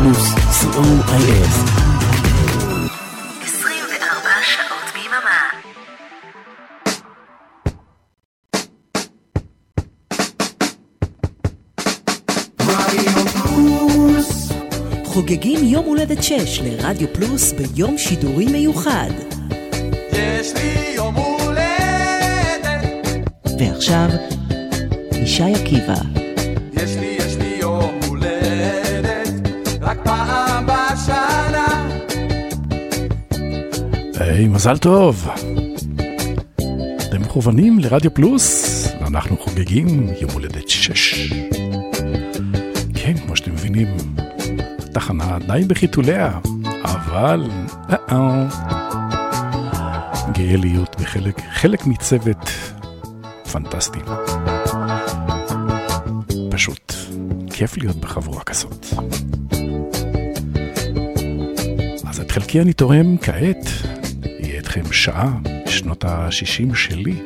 פלוס, COIS. 24 שעות ביממה. חוגגים יום הולדת 6 לרדיו פלוס ביום שידורי מיוחד. יש לי יום הולדת. ועכשיו, ישי עקיבא. יש לי יום הולדת, רק פעם בשנה. היי, מזל טוב. אתם מכוונים לרדיו פלוס, ואנחנו חוגגים יום הולדת 6. כן, כמו שאתם מבינים, התחנה די בחיתוליה, אבל גאה להיות חלק מצוות פנטסטי. פשוט כיף להיות בחבורה כזאת. אז את חלקי אני תורם כעת, יהיה אתכם שעה בשנות ה-60 שלי.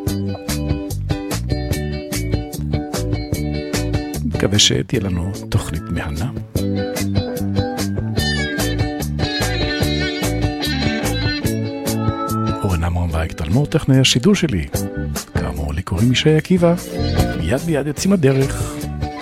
מקווה שתהיה לנו תוכנית מהנה. אורן עמרם והקטלמור טכנאי השידור שלי. כאמור לי קוראים ישי עקיבא. מיד ביד יוצאים הדרך.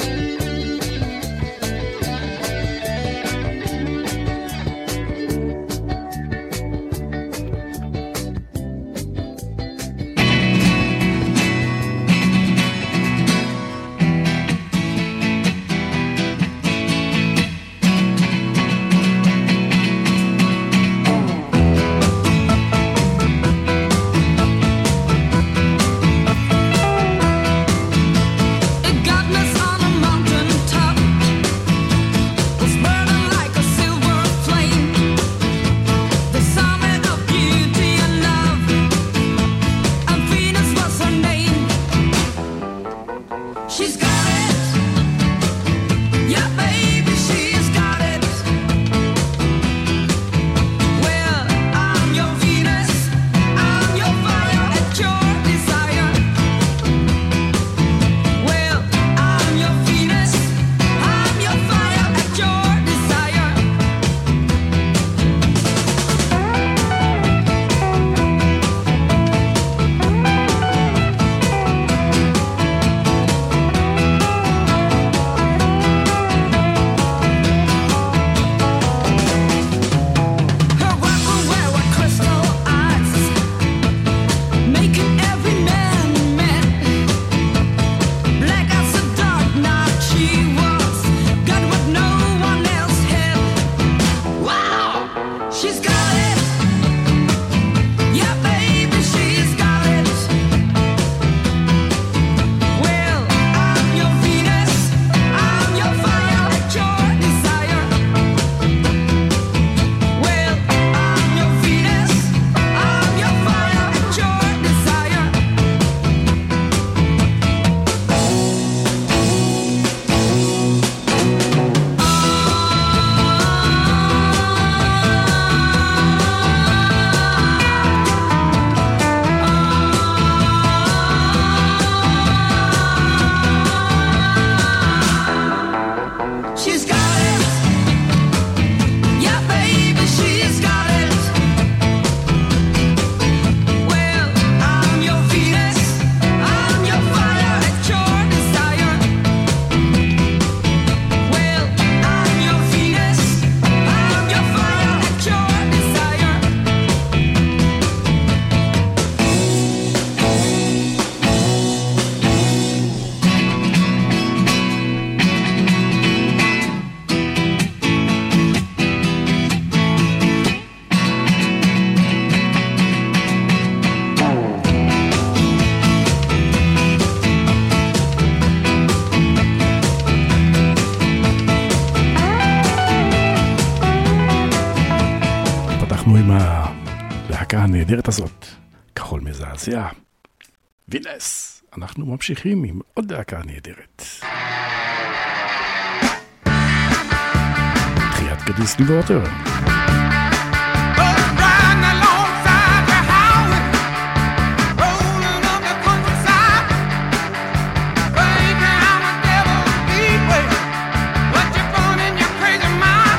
הנהדרת הזאת, כחול מזעזע. וינס, אנחנו ממשיכים עם עוד דקה נהדרת. תחיית קדיס ליבורטר. What you put in your crazy mind?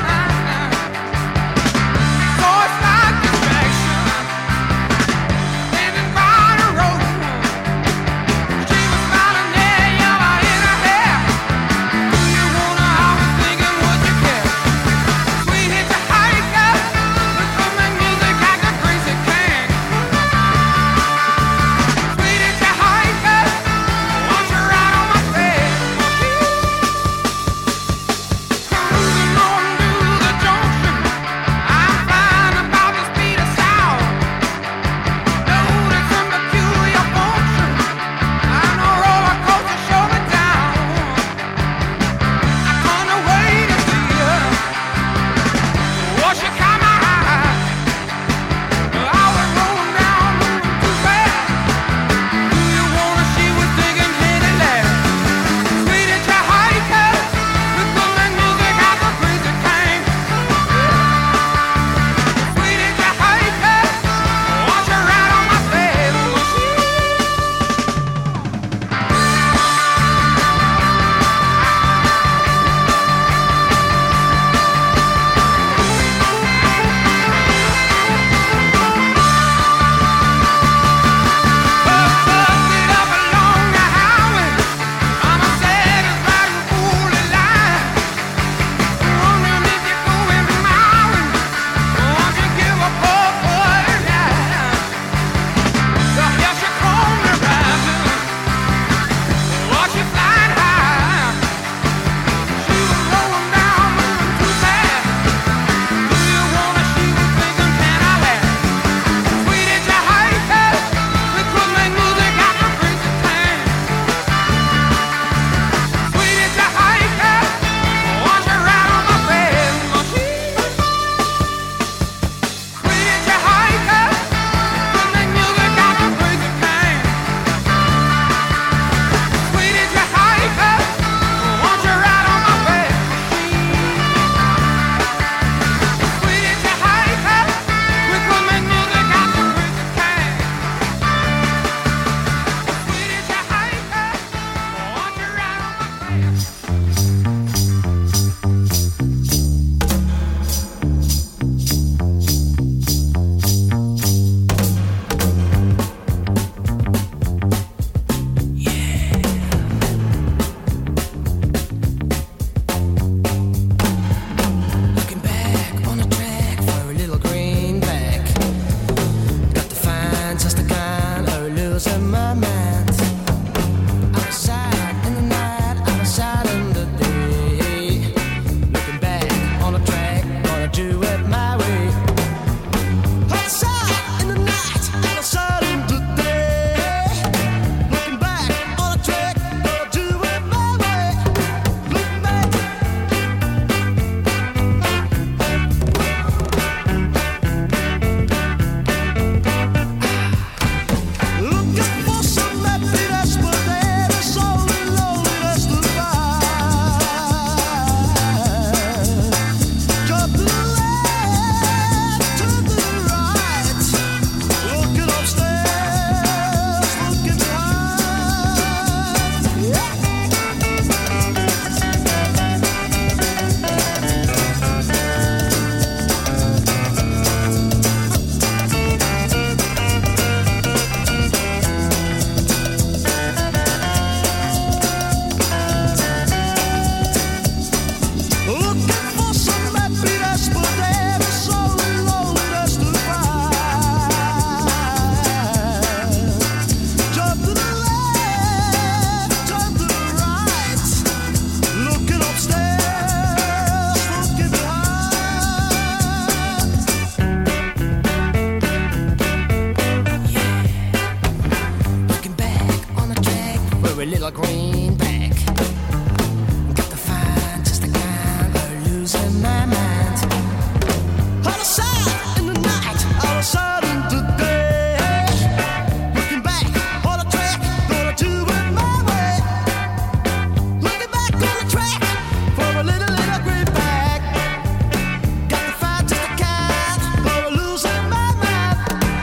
a little greenback. Got to find just the kind of losing my mind. Out of sight in the night, out of sight in the day. Looking back on the track, gonna do it my way. Looking back on the track for a little greenback. Got to find just the kind of losing my mind.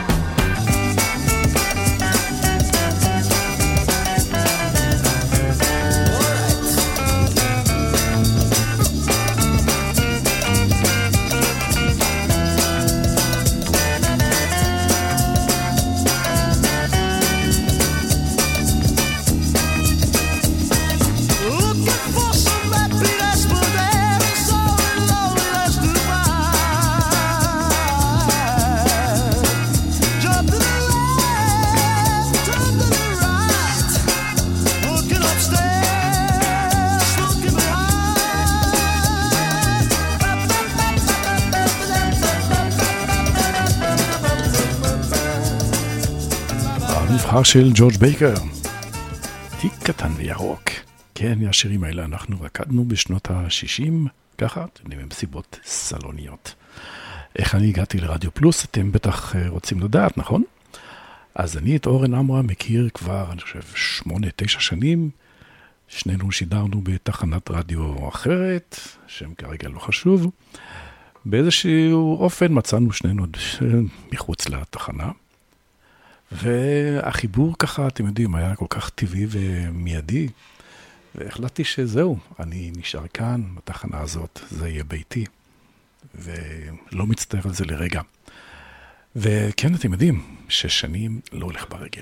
Looking for some happiness, but there is so loneliness to find. Jump to the left, turn to the right. Looking upstairs, looking behind. המבחר של ג'ורג' בייקר, תיק קטן וירוק. כן, השירים האלה אנחנו רקדנו בשנות ה-60, ככה, אתם יודעים, הם סיבות סלוניות. איך אני הגעתי לרדיו פלוס, אתם בטח רוצים לדעת, נכון? אז אני את אורן עמרה מכיר כבר, אני חושב, 8-9 שנים. שנינו שידרנו בתחנת רדיו אחרת, שם כרגע לא חשוב. באיזשהו אופן מצאנו שנינו מחוץ לתחנה. והחיבור ככה, אתם יודעים, היה כל כך טבעי ומיידי. והחלטתי שזהו, אני נשאר כאן, בתחנה הזאת, זה יהיה ביתי. ולא מצטער על זה לרגע. וכן, אתם יודעים, 6 שנים לא הולך ברגל.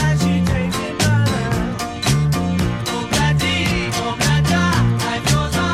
Oh,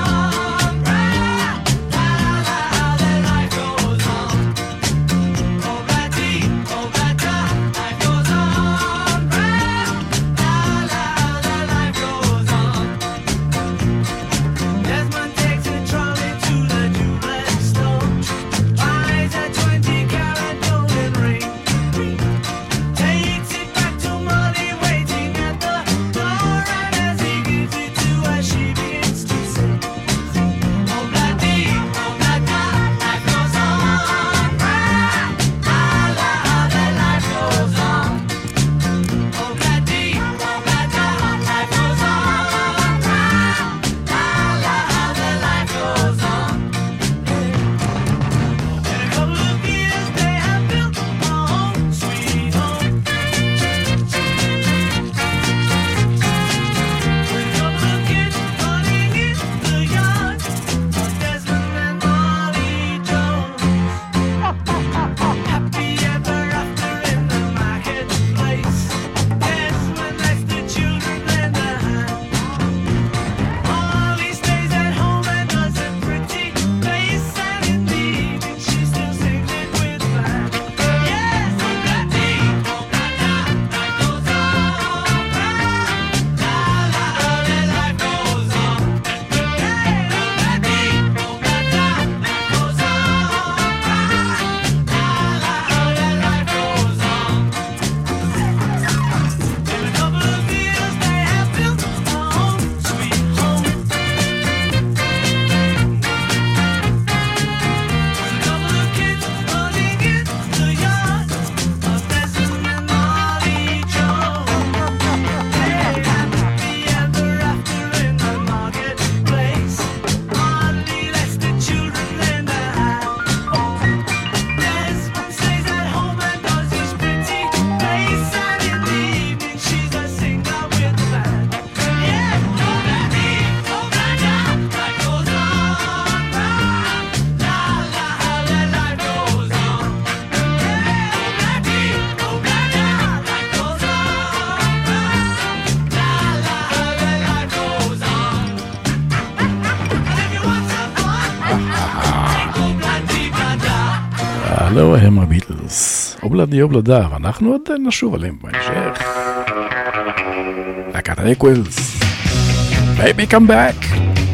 הלו הם הביטלס, אובלדי אובלדה, ואנחנו עוד נשוב עליהם בהמשך. להקת האקוולס, Baby Come Back.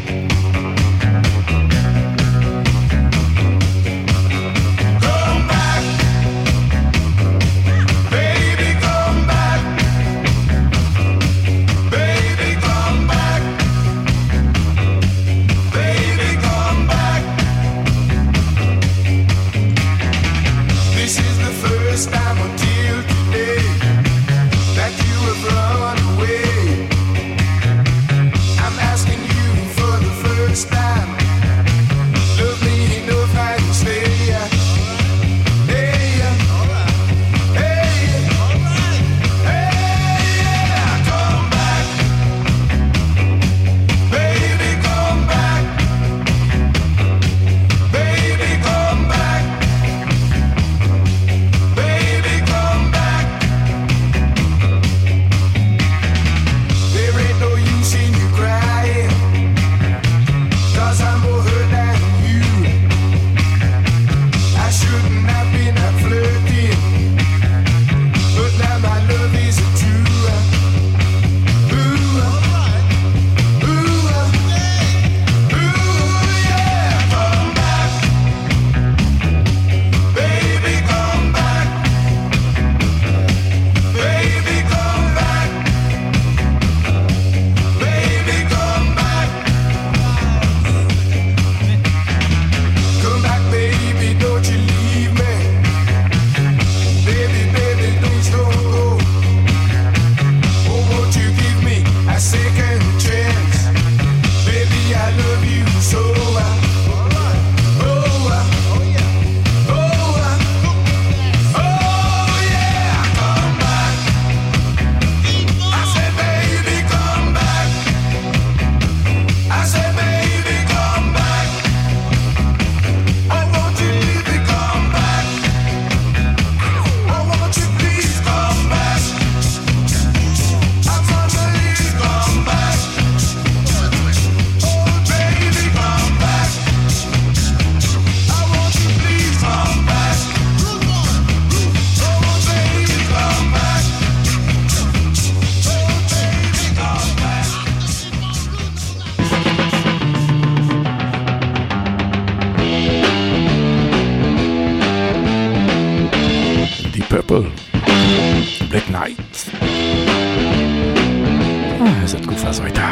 Black Knight. איזה תקופה זו הייתה.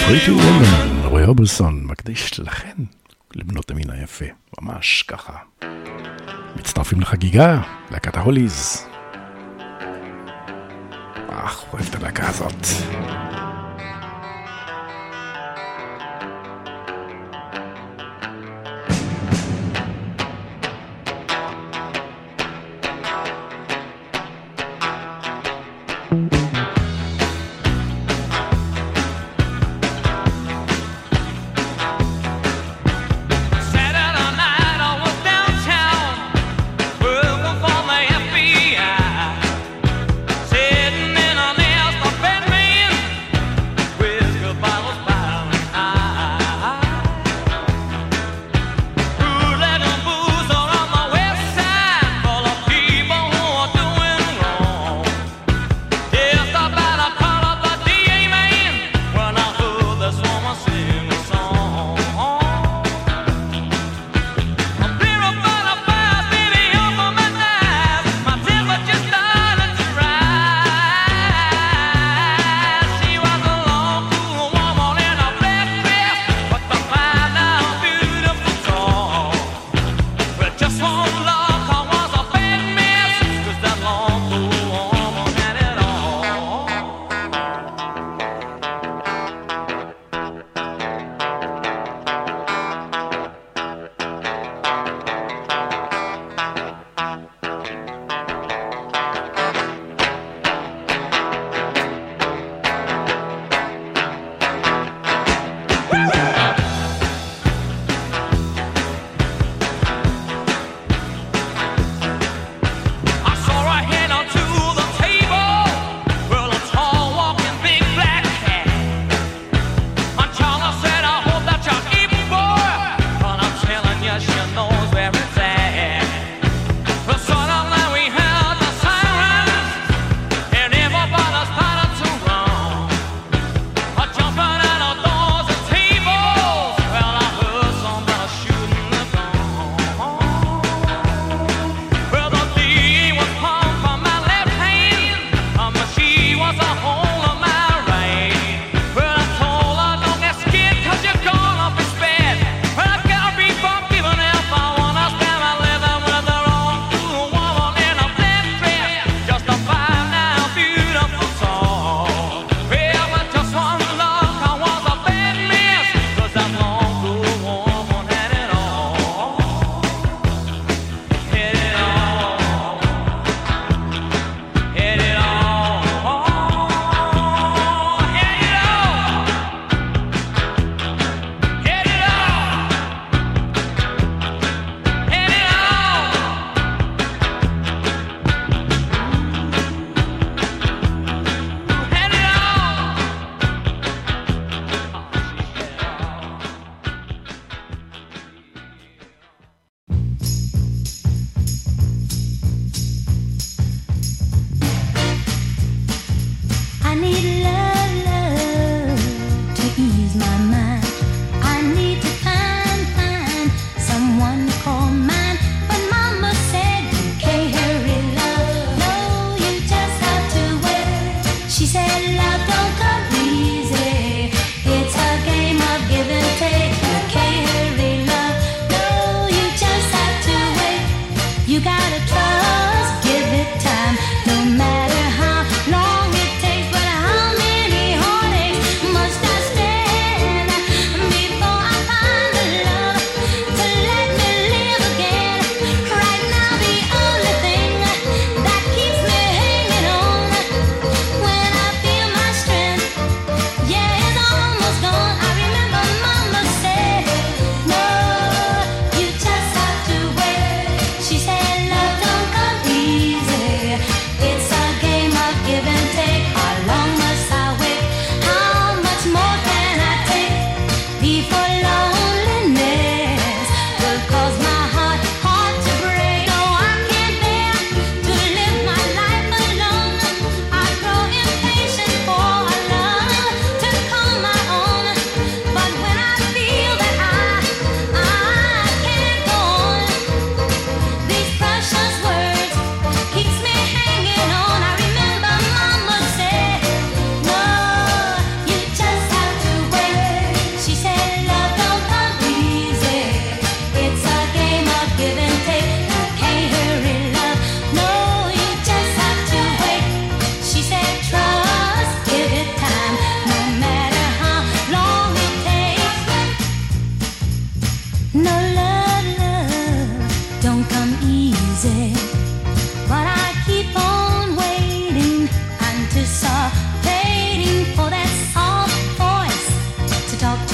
Pretty Woman, רוי אורביסון, מקדיש לכן, לבנות המין היפה, ממש ככה. מצטרפים לחגיגה, להקת ההוליז. אוהב את הלהקה הזאת.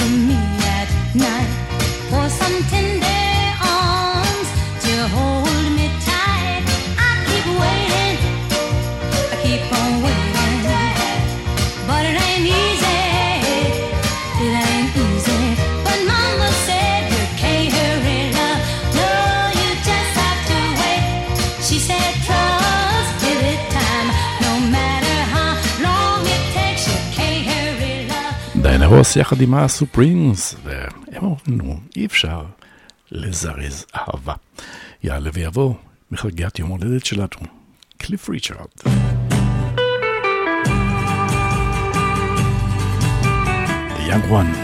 to me at night for some tender arms to hold me tight. I keep waiting, I keep on waiting, but it ain't easy, it ain't easy. But Mama said you can't hurry love, no, you just have to wait. She said trust, give it time, no matter how long it takes, you can't hurry love. דיינה רוס יחד עם הסופרימס, והם אומרים, אי אפשר לזרז אהבה. יעלה ויבוא מחגיית יום הולדת שלנו, קליף ריצ'רד. The Young One.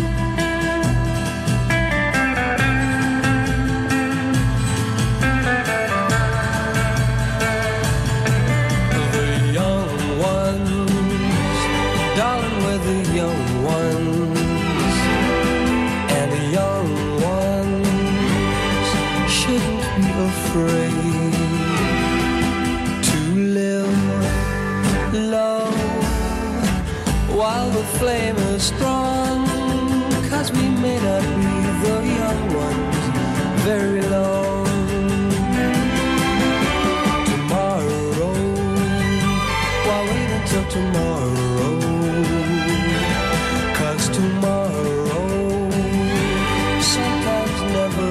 Flame is strong, 'cause we may not be the young ones very long. Tomorrow, why wait until tomorrow? 'Cause tomorrow sometimes never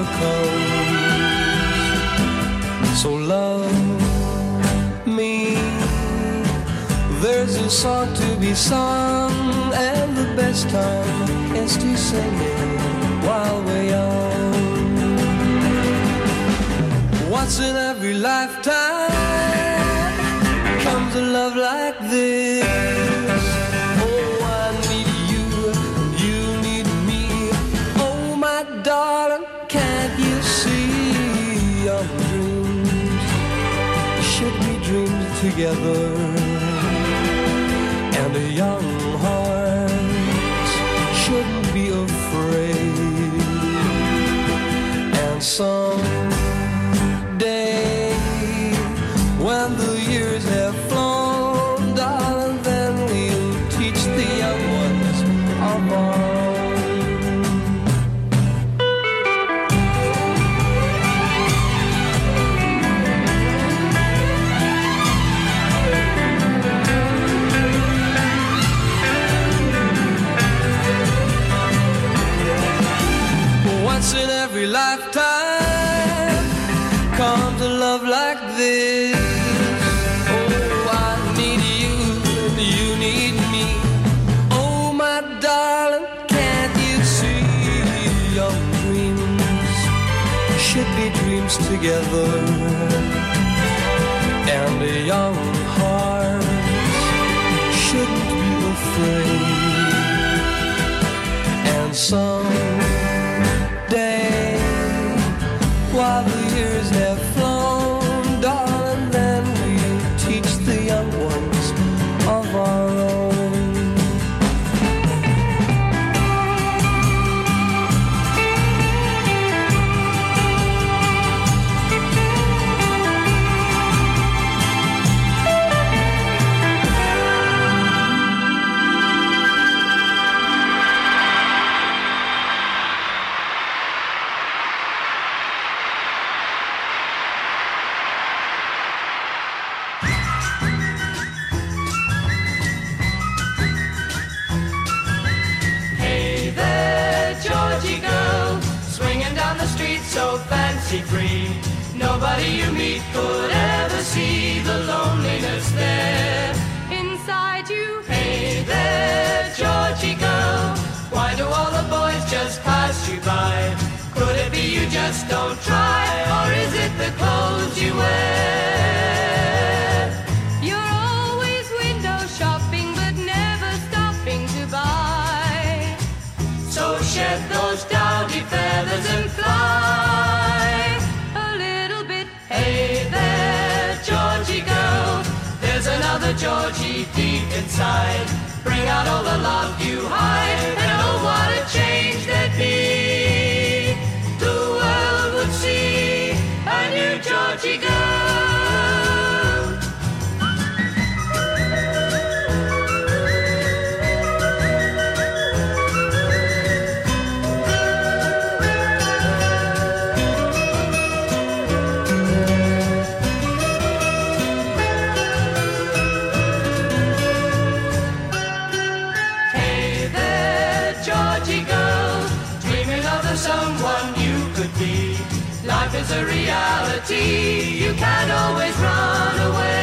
comes. So love me, there's a song to be sung, and the best time is to sing it while we're young. Once in every lifetime comes a love like this. Oh, I need you, you need me. Oh, my darling, can't you see our dreams should be dreams together? And a young heart shouldn't be afraid. And someday, when the years have flown, darling, then we'll teach the young ones our own. Once in every lifetime comes a love like this. Oh, I need you and you need me. Oh, my darling, can't you see your dreams should be dreams together? And a young heart shouldn't be afraid. And someday, while the years have flown, darling, then we'll teach the young ones of our own. So fancy-free, nobody you meet could ever see the loneliness there Inside you. Hey there, Georgie girl, why do all the boys just pass you by? Could it be you just don't try, or is it the clothes you wear? You're always window shopping, but never stopping to buy. So shed those dowdy feathers and fly a little bit. Hey there, Georgie girl, there's another Georgie deep inside. Bring out all the love you hide, and oh, what a change there'd be. The world would see a new Georgie girl. is a reality. You can't always run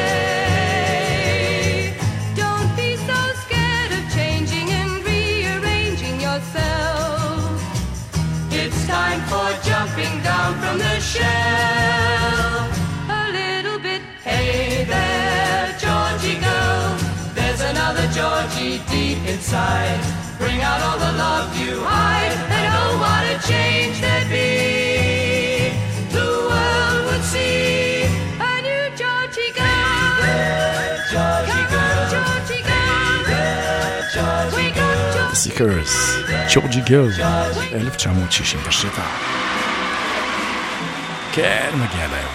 away. Don't be so scared of changing and rearranging yourself. It's time for jumping down from the shelf. A little bit. Hey there, Georgie girl, there's another Georgie deep inside. Bring out all the love you hide, and oh, what a change there'd be. The world would see A new Georgie girl. Georgie girl, Georgie girl. Georgie girl. סיקרס, ג'ורג'י גרל, 1967. כן, מגיע להם.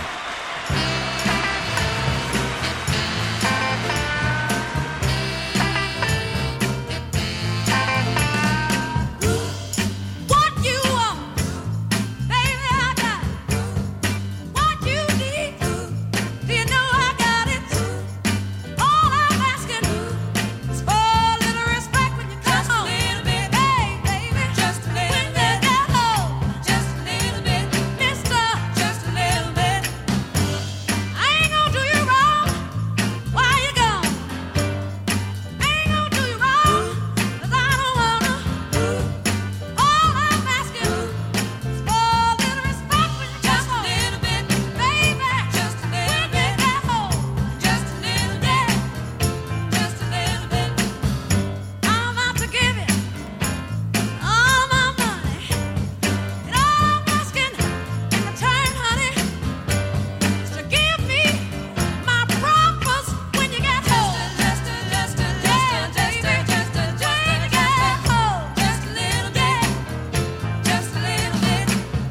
What you want, baby, I got it. What you need, do you know I got it? All I'm asking is for a little respect when you come home. Just a little bit, hey, baby, just a little bit. When you get home, just a little bit, mister, just a little bit. I ain't gonna do you wrong while you're gone. I ain't gonna do you wrong, 'cause I don't wanna. All I'm asking is for a little respect when you come home. Just a little bit, baby, just a little bit. When you get home, just a little bit, just a little bit. I'm out to give you all my money, and all I'm asking in return, honey, is to give me my promise when you get home. Just a little bit, when you get home, just a little bit, just a little bit.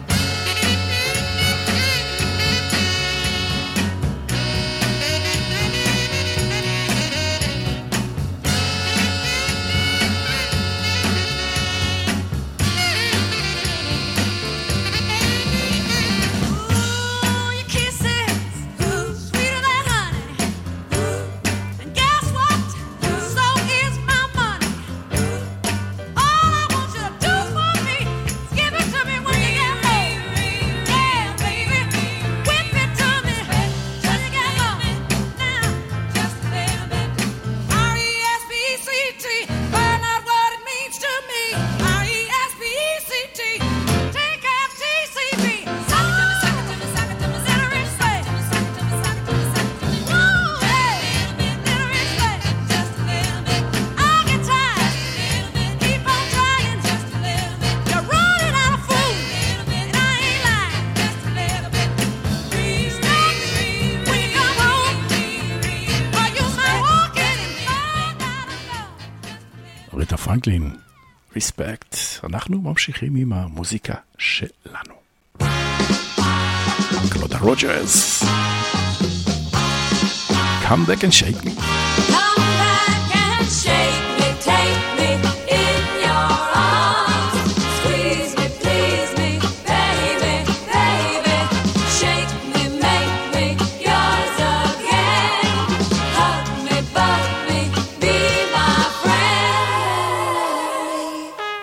Ooh, your kisses, sweeter than honey. And guess what? So is my money. All I want you to do for me is give it to me when you get home. Yeah, baby, whip it to me till you get home. Now, just a little bit. R-E-S-P-E-C-T, find out what it means to me. R-E-S-P-E-C-T, T-F-T-C-B. Suck it to me, suck it to me, little rich way. Suck it to me, suck it to me, suck it to me. Woo, hey, little rich way. Just a little bit. I'll get tired. Keep on trying. Just a little bit. You're running out of food, and I ain't lying. Just a little bit. Respect when you come home, or you might walk in and find out alone. ריטה פרנקלין, ריספקט. אנחנו ממשיכים עם המוזיקה שלנו. קלודה רוג'רס, Come back and shake me. Come back and shake me, take me in your arms. Squeeze me, please me, baby, baby. Shake me, make me yours again. Hug me, bug me, be my friend.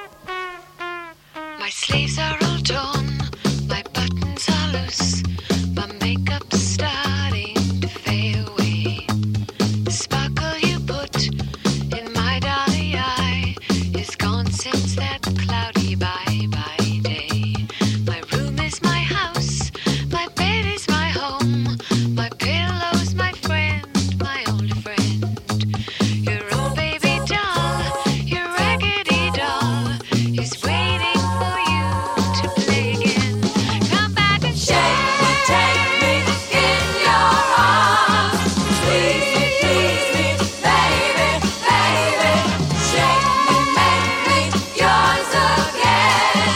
My sleeves are all torn, my buttons are loose, my makeup's starting to fade away. The sparkle you put in my dolly eye is gone since that cloudy bye-bye day. My room is my house, my bed is my home, my pillow's my friend, my only friend. Your old baby doll, your raggedy doll, is waiting for you to play again. Come back and shake me, take me in your arms. Squeeze me, please me, baby, baby. Shake me, make me yours again.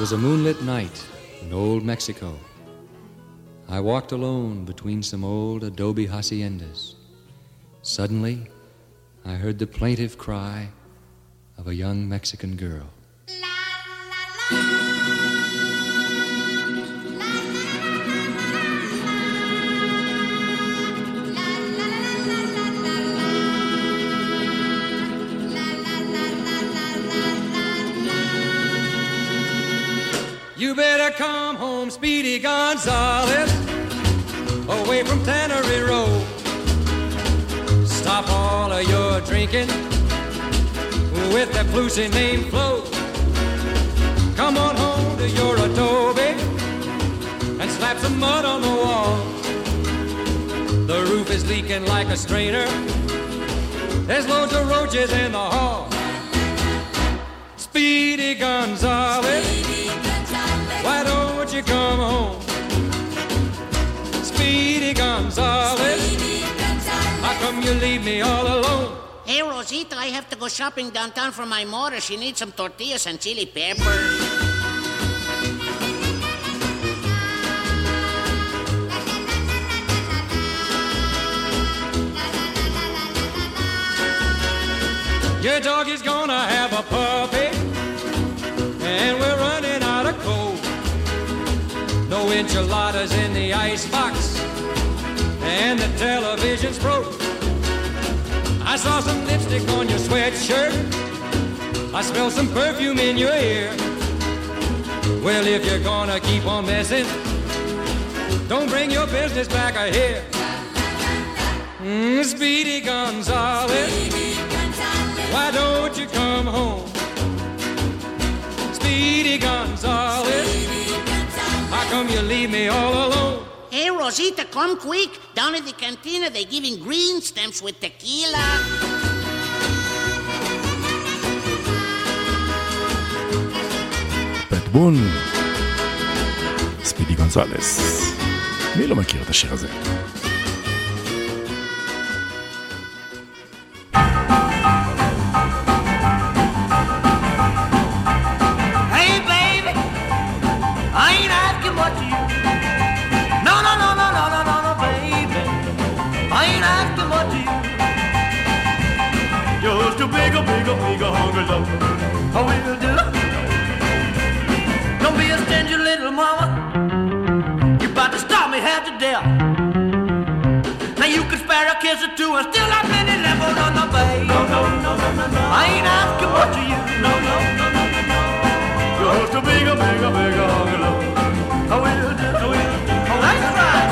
was a moonlit night in old Mexico. I walked alone between some old adobe haciendas. Suddenly, I heard the plaintive cry of a young Mexican girl. You better come home, Speedy Gonzales, away from Tannery Road. Stop all of your drinking with that flusy name Flo. Come on home to your adobe and slap some mud on the wall. The roof is leaking like a strainer. There's loads of roaches in the hall. Speedy Gonzales, why don't you come home? Speedy Gonzales, how come you leave me all alone? Hey, Rosita, I have to go shopping downtown for my mother. She needs some tortillas and chili peppers. Your dog is gonna have a puppy, and we're running out of coal. No enchiladas in the icebox, and the television's broke. I saw some lipstick on your sweatshirt. I smell some perfume in your ear. Well, if you're gonna keep on messing, don't bring your business back here. Speedy Gonzales, why don't you come home? Speedy Gonzales, how come you leave me all alone? Hey, Rosita, come quick. Down at the cantina, they're giving green stamps with tequila. פט בון, ספידי גונזלס. מי לא מכיר את השיר הזה? Hey, baby, I ain't asking what you. No, no, no, no, no, no, no, no, baby, I ain't asking what you. Just a bigger, bigger, bigger hungry love. I will do. Don't be a stingy little mama. You about to stop me half to death. Now you can spare a kiss or two and still have many left. Oh, no, no, baby. No, no, no, no, no, no. I ain't asking what you. No, no, no, no, no, no. Just a bigger, bigger, bigger hungry love. I will do. I will do. Oh, that's right.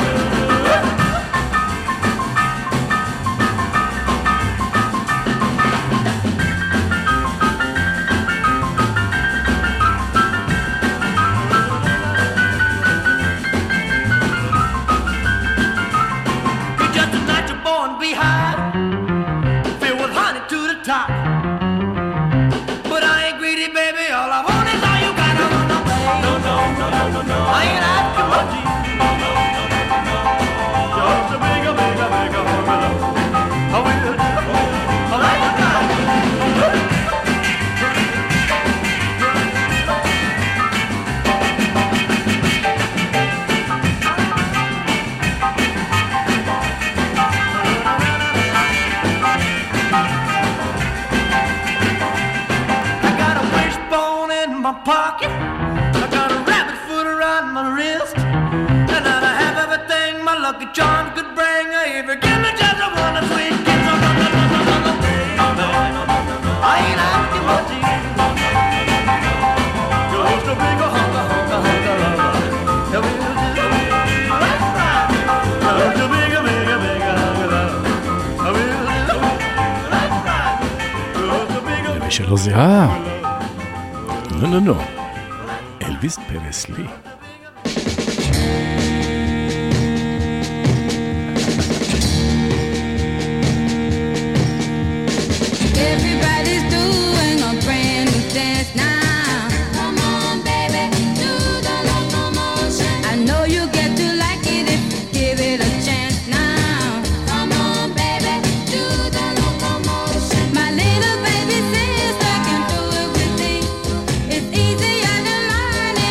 You're just a natural born beehive, filled with honey to the top. But I ain't greedy, baby. All I want is all you got. No, no, no, baby. No, no, no, no, no, no. I ain't asking what you. No, no, no, no, no, no. Just a bigger, bigger, bigger hungry love. I will do. All right, you got. I got a wishbone in my pocket. I got a rabbit foot around my wrist. And I have everything my lucky charms could bring. If you give me just a one sweet kiss, no, no, no, no, no, no, no, no, no, no, no. I ain't asking what you. Just a bigger hunger, hunger, hunger, hunger. Yeah, we will do. That's right. Just a bigger, bigger, bigger hunger, love. I will do. That's right. Just a bigger. למי שלא זיהה, לא, אלוויס פרסלי. Everybody's doing a brand new dance now. Come on, baby, do the locomotion. I know you get to like it if you give it a chance now. Come on, baby, do the locomotion. My little baby sister can do it with me. It's easier than learning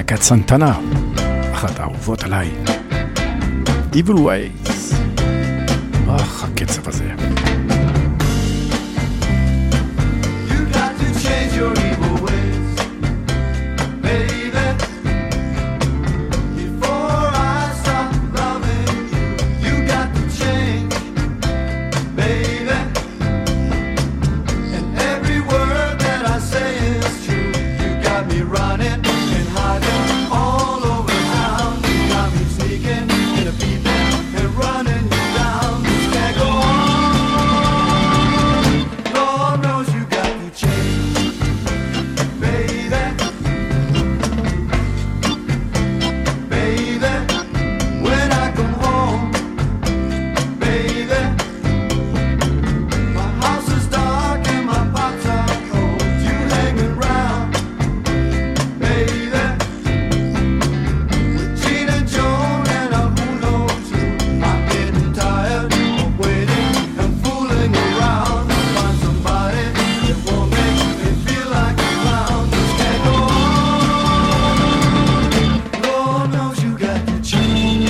להקת סנטנה, אחת האהובות עליי. Evil Ways. הקצב הזה. You got to change your evil ways, baby. Before I stop loving you, you got to change, baby. And every word that I say is true. You got me running and hiding all over town. You got me sneaking and peeping and running you down. This can't go on. Lord knows you got to change, baby. Baby, when I come home, baby, my house is dark and my pots are cold. You hanging round, baby, with Gina, Joan, and who knows who. I'm getting tired of waiting and fooling around to find somebody that won't make me feel like a clown. This can't go on. Lord knows you got to change.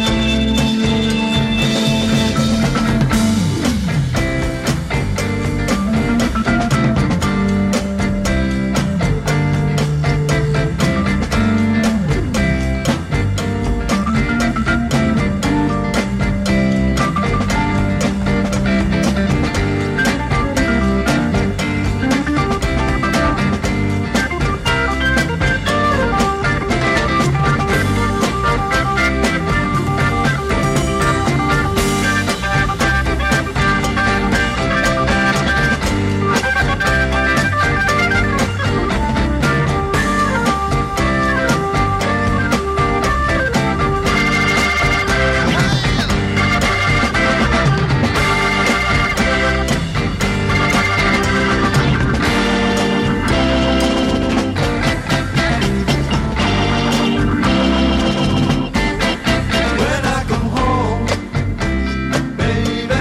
When I come home, baby,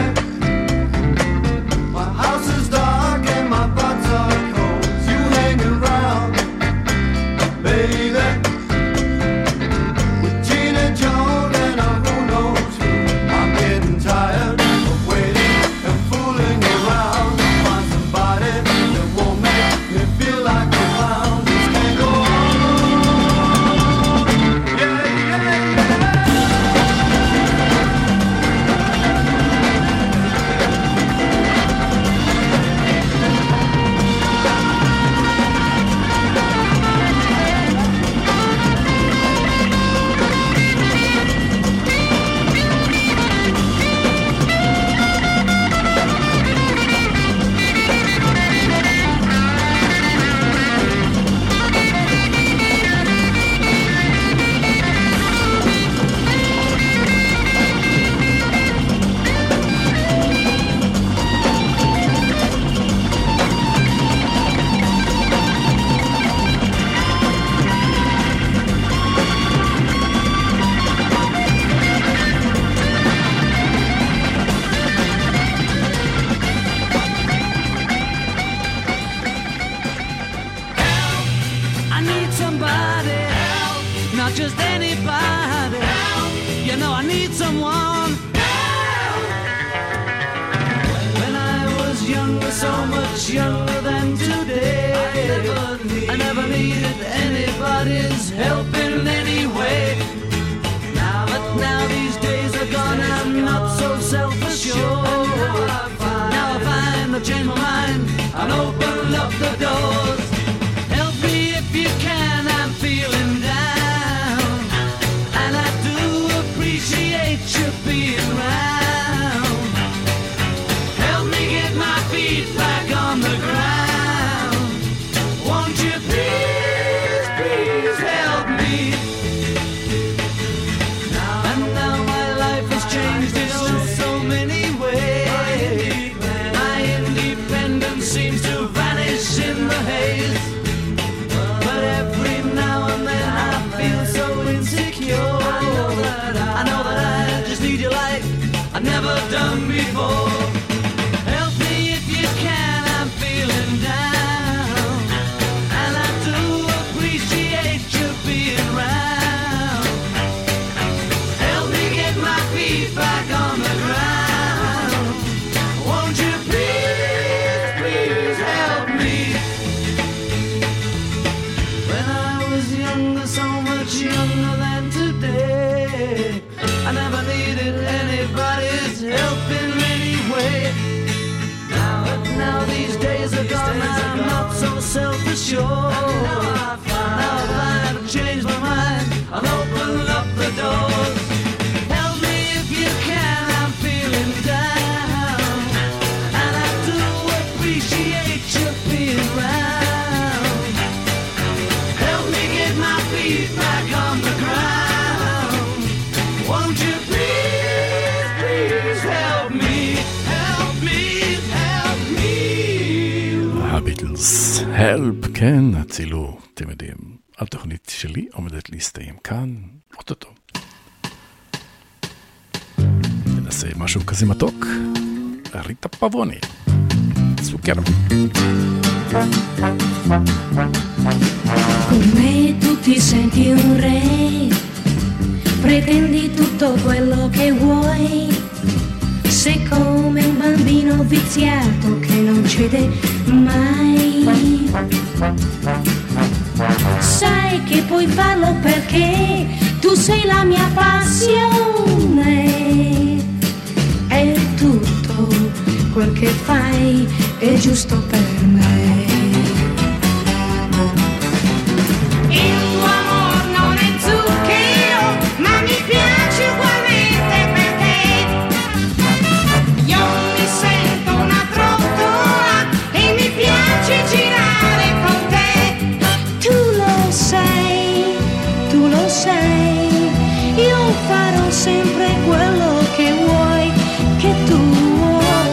my house is dark and my pots are cold. You hanging round, baby, with Gina, Joan, and who knows who. I'm getting tired of waiting and fooling around to find somebody that won't make me feel like a clown. This can't go on. Yeah, yeah, yeah. I need somebody help, not just anybody help. You know I need someone help. When I was younger, so much younger than today, I never needed anybody's help in any way. But now these days are gone, I'm not so self-assured. Now I find I've changed my mind and opened up the doors. Help me if you can, I'm feeling down, and I do appreciate you being around. Help me get my feet back on the ground. Won't you please, please help me? And now my life has changed in so many ways. My independence seems to vanish in the haze. was so much younger than today. I never needed anybody's help in any way. Now these days are gone, I'm not so self-assured. Now I find I've changed my mind, I'll open up the doors. Help me if you can, I'm feeling down, and I do appreciate you being round. Help me get my feet back on the ground. Won't you please, please help me, help me, help me. הביטלס, הלפ, כן, הצילו, אתם יודעים, התוכנית שלי עומדת להסתיים כאן, אוטוטו. ננסה משהו כזה מתוק, ריטה פברוני, סוכר. Come tu ti senti un re, pretendi tutto quello che vuoi, sei come un bambino viziato che non cede mai. Sai che puoi farlo perché tu sei la mia passione, e tutto quel che fai è giusto per me. Il tuo amor non è zucchero, ma mi piace ugualmente perché io mi sento una trottola e mi piace girare con te. Tu lo sai, io farò sempre quello che vuoi, che tu vuoi.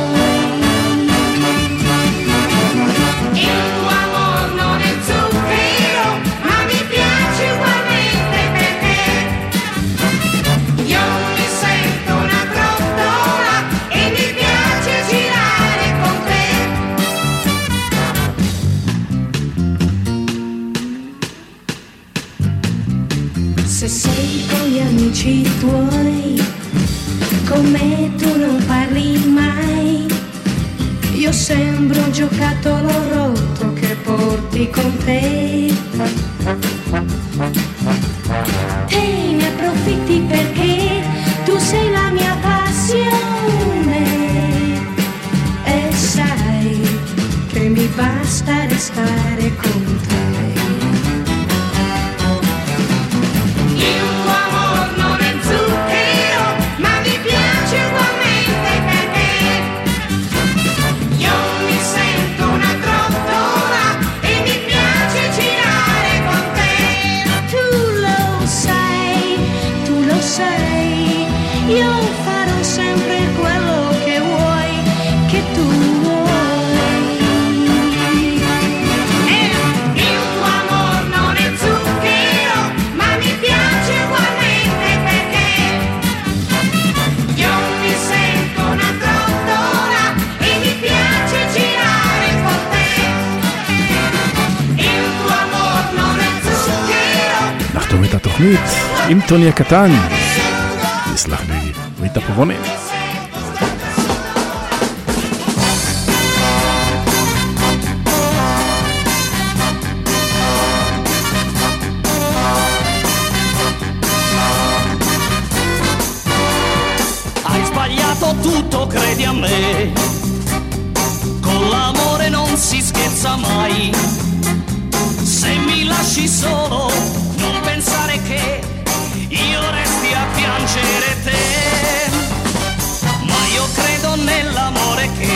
Il tuo amor non è zucchero, ma mi piace ugualmente perché io mi sento una trottola e mi piace girare con te. Se sei con gli amici tuoi, con me tu non parli mai. Io sembro un giocattolo rotto che porti con te. Te ne approfitti perché tu sei la mia passione, e sai che mi basta restare con te. Il tuo amor non è zucchero, ma mi piace ugualmente perché io mi sento una trottola e mi piace girare con te. Tu lo sai, io farò sempre quello che vuoi, che tu vuoi. Il tuo amor non è zucchero, ma mi piace ugualmente perché io mi sento una trottola e mi piace girare con te. Il tuo amor non è zucchero. נחתום את התוכנית עם טוני הקטן. תסלח לי, ריטה פברוני. Hai sbagliato tutto, credi a me. Con l'amore non si scherza mai. Se mi lasci solo, non pensare che io resti a piangere te. Ma io credo nell'amore che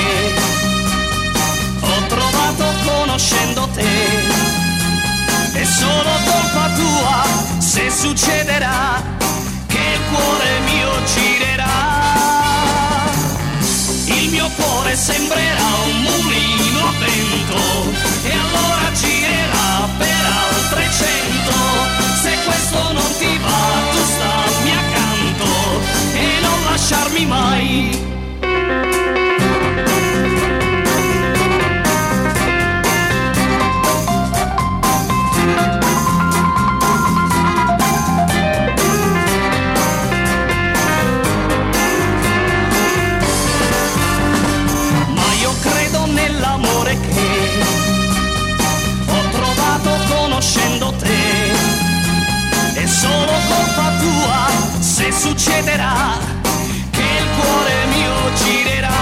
ho trovato conoscendo te. È solo colpa tua se succederà che il cuore mio girerà. Il mio cuore sembrerà un mulino a vento e allora girerà per altre 100. Se questo non ti va, tu stammi accanto e non lasciarmi mai. Ma io credo nell'amore che ho trovato conoscendo te. succederà che il cuore mio girerà.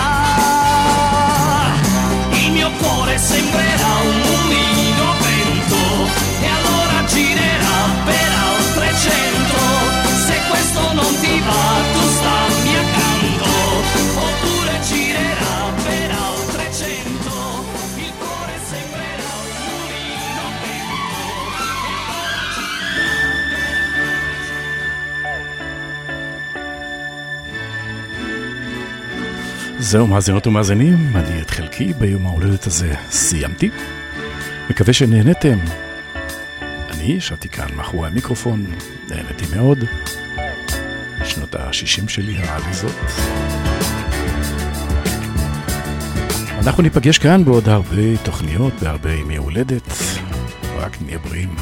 Il mio cuore sembrerà un mulino a vento e allora girerà per altre 100. Se questo non ti va tu stammi accanto, oppure girerà per altre 100. Il cuore sembrerà un mulino a vento e allora זהו מאזינות ומאזינים, אני את חלקי ביום ההולדת הזה סיימתי. מקווה שנהנתם. אני ישבתי כאן מאחורי המיקרופון, נהנתי מאוד. שנות ה-60 שלי העליזות. אנחנו ניפגש כאן בעוד הרבה תוכניות, בהרבה ימי הולדת. רק נהיה בריאים.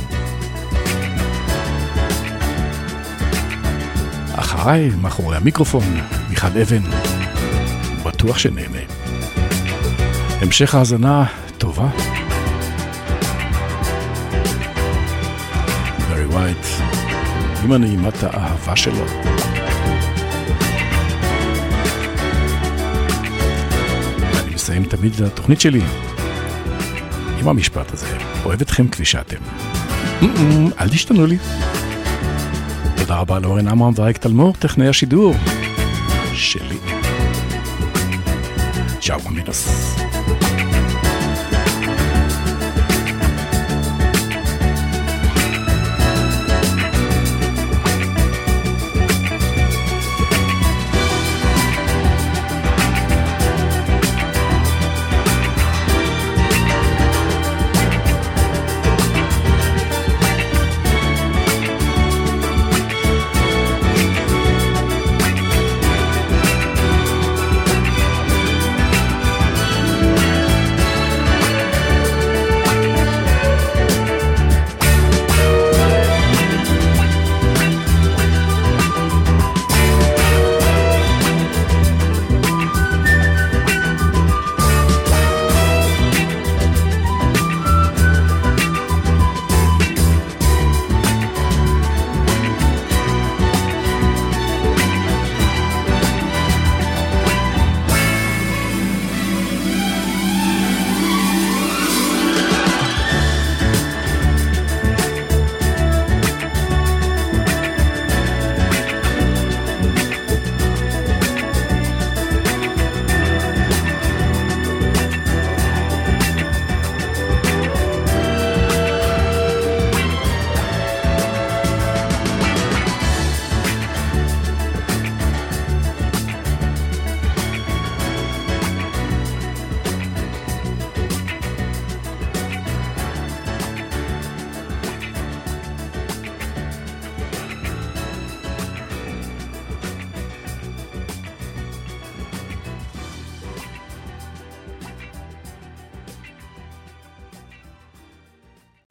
אחריי, מאחורי המיקרופון, מיכל אבן. בטוח שנהנה. המשך האזנה טובה. ברי ווייט, עם הנעימת האהבה שלו. אני מסיים תמיד את התוכנית שלי עם המשפט הזה. אוהב אתכם כפי שאתם. אל תשתנו לי. תודה רבה לאורן עמרם ואריק תלמור, טכנאי השידור שלי. Ciao amigos.